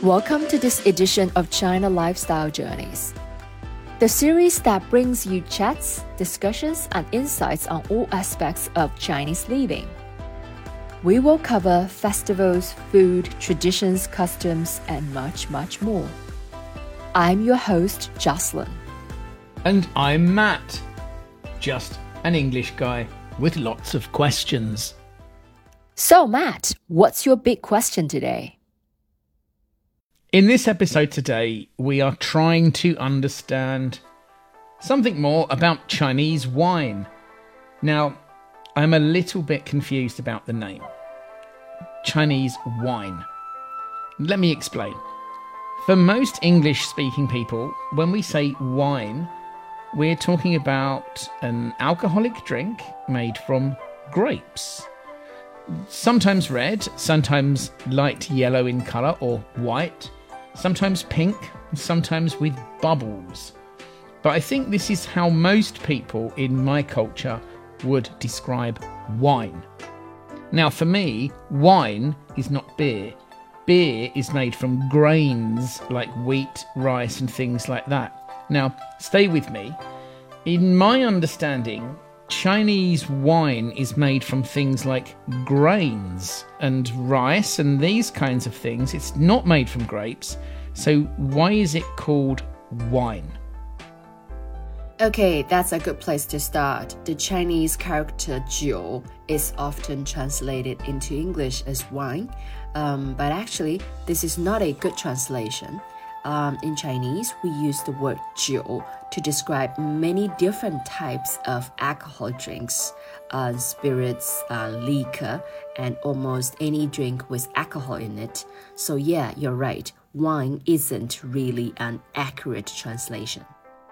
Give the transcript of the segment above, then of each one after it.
Welcome to this edition of China Lifestyle Journeys, the series that brings you chats, discussions, and insights on all aspects of Chinese living. We will cover festivals, food, traditions, customs, and much, much more. I'm your host, Jocelyn. And I'm Matt, just an English guy with lots of questions. So, Matt, what's your big question today? In this episode today, we are trying to understand something more about Chinese wine. Now, I'm a little bit confused about the name. Chinese wine. Let me explain. For most English-speaking people, when we say wine, we're talking about an alcoholic drink made from grapes. Sometimes red, sometimes light yellow in colour or white, sometimes pink, sometimes with bubbles. But I think this is how most people in my culture would describe wine. Now for me, wine is not beer. Beer is made from grains like wheat, rice and things like that. Now, stay with me. In my understanding, Chinese wine is made from things like grains and rice and these kinds of things. It's not made from grapes. So why is it called wine? Okay, that's a good place to start. The Chinese character 酒 is often translated into English as wine, but actually this is not a good translation. In Chinese, we use the word 酒 to describe many different types of alcohol drinks, spirits, liquor, and almost any drink with alcohol in it. So yeah, you're right. Wine isn't really an accurate translation.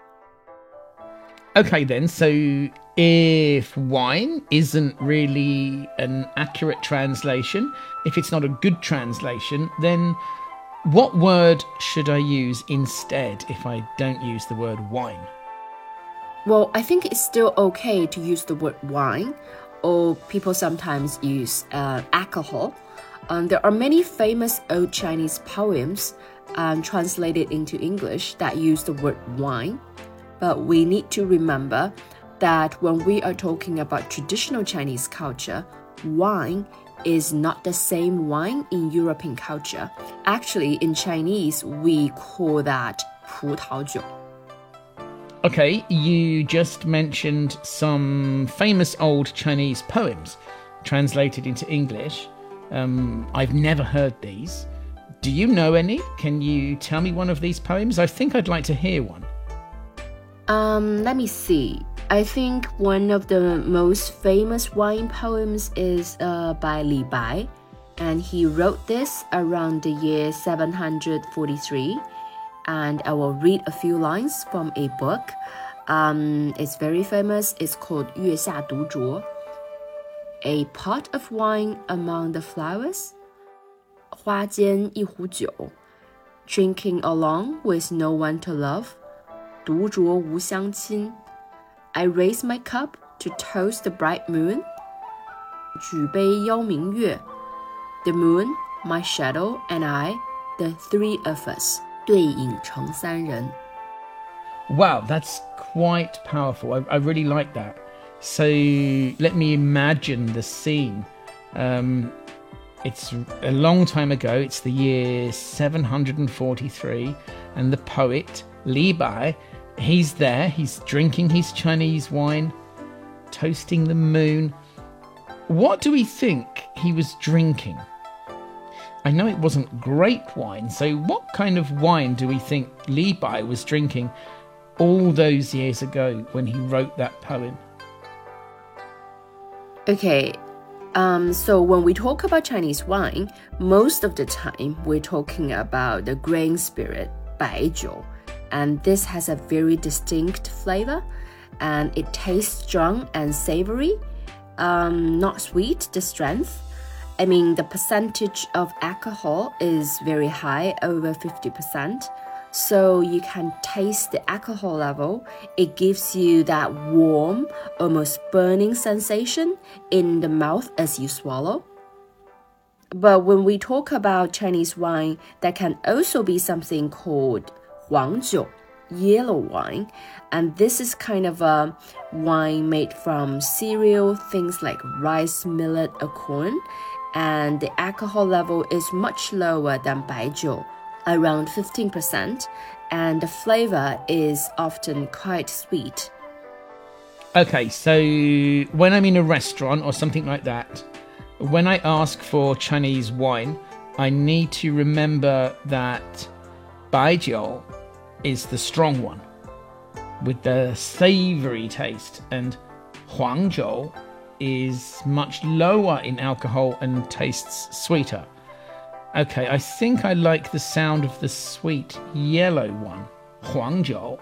Okay then, so if wine isn't really an accurate translation, if it's not a good translation, then what word should I use instead if I don't use the word wine? Well, I think it's still okay to use the word wine, or people sometimes use alcohol. There are many famous old Chinese poems translated into English that use the word wine. But we need to remember that when we are talking about traditional Chinese culture, wine is not the same wine in European culture. Actually, in Chinese, we call that 葡萄酒. Okay, you just mentioned some famous old Chinese poems translated into English. I've never heard these. Do you know any? Can you tell me one of these poems? I think I'd like to hear one. Let me see. I think one of the most famous wine poems is by Li Bai, and he wrote this around the year 743. And I will read a few lines from a book. It's very famous. It's called 月下独酌. A pot of wine among the flowers, 花间一壶酒, drinking along with no one to love, 独酌无相亲. I raise my cup to toast the bright moon, 举杯邀明月, the moon, my shadow, and I, the three of us, 对影成三人. Wow, that's quite powerful. I really like that. So let me imagine the scene. It's a long time ago. It's the year 743, and the poet Li Bai, he's there. He's drinking his Chinese wine, toasting the moon. What do we think he was drinking? I know it wasn't grape wine, so what kind of wine do we think Li Bai was drinking all those years ago when he wrote that poem? Okay, so when we talk about Chinese wine, most of the time we're talking about the grain spirit, 白酒, and this has a very distinct flavor, and it tastes strong and savory, not sweet, the strength. I mean, the percentage of alcohol is very high, over 50%. So you can taste the alcohol level. It gives you that warm, almost burning sensation in the mouth as you swallow. But when we talk about Chinese wine, there can also be something called 黄酒, yellow wine. And this is kind of a wine made from cereal, things like rice, millet, or corn. And the alcohol level is much lower than 白酒, around 15%. And the flavor is often quite sweet. Okay, so when I'm in a restaurant or something like that, when I ask for Chinese wine, I need to remember that 白酒 is the strong one with the savory taste, and 黄酒 is much lower in alcohol and tastes sweeter. Okay, I think I like the sound of the sweet yellow one, 黄酒.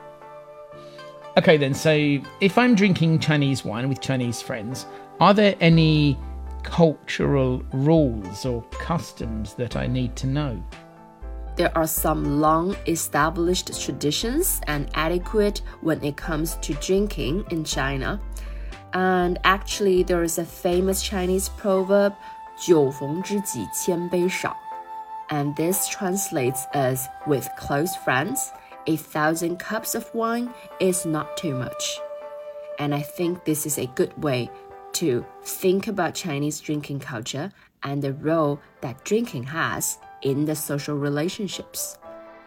Okay then, so if I'm drinking Chinese wine with Chinese friends, are there any cultural rules or customs that I need to know? There are some long-established traditions and etiquette when it comes to drinking in China. And actually, there is a famous Chinese proverb, 酒逢知己千杯少. And this translates as, with close friends, 1,000 cups of wine is not too much. And I think this is a good way to think about Chinese drinking culture and the role that drinking has in the social relationships.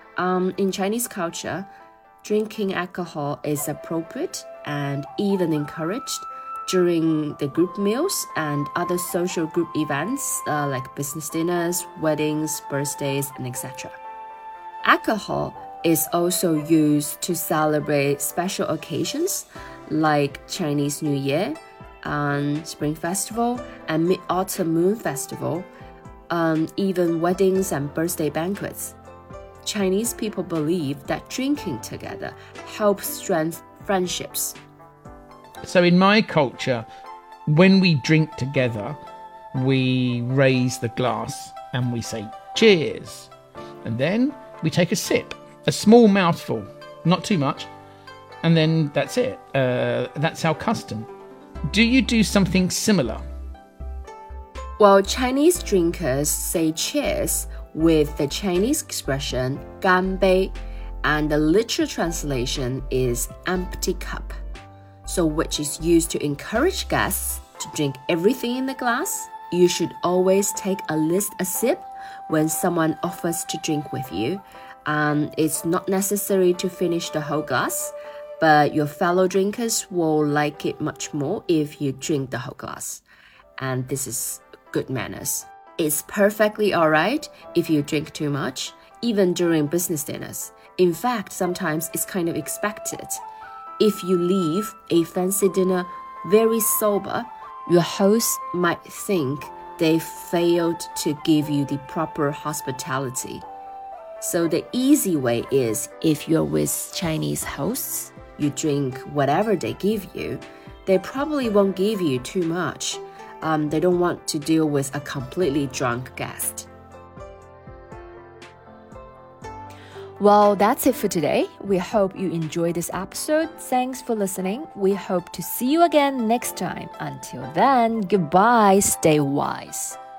In Chinese culture, drinking alcohol is appropriate and even encouraged during the group meals and other social group events like business dinners, weddings, birthdays, and etc. Alcohol is also used to celebrate special occasions like Chinese New Year, Spring Festival, and Mid-Autumn Moon Festival, even weddings and birthday banquets. Chinese people believe that drinking together helps strengthen friendships. So in my culture, when we drink together, we raise the glass and we say cheers. And then we take a sip, a small mouthful, not too much. And then that's it. That's our custom. Do you do something similar? Well, Chinese drinkers say cheers with the Chinese expression 干杯, and the literal translation is empty cup. So which is used to encourage guests to drink everything in the glass. You should always take a sip when someone offers to drink with you. It's not necessary to finish the whole glass, but your fellow drinkers will like it much more if you drink the whole glass. And this is good manners. It's perfectly alright if you drink too much, even during business dinners. In fact, sometimes it's kind of expected. If you leave a fancy dinner very sober, your host might think they failed to give you the proper hospitality. So the easy way is, if you're with Chinese hosts, you drink whatever they give you. They probably won't give you too much. They don't want to deal with a completely drunk guest. Well, that's it for today. We hope you enjoyed this episode. Thanks for listening. We hope to see you again next time. Until then, goodbye. Stay wise.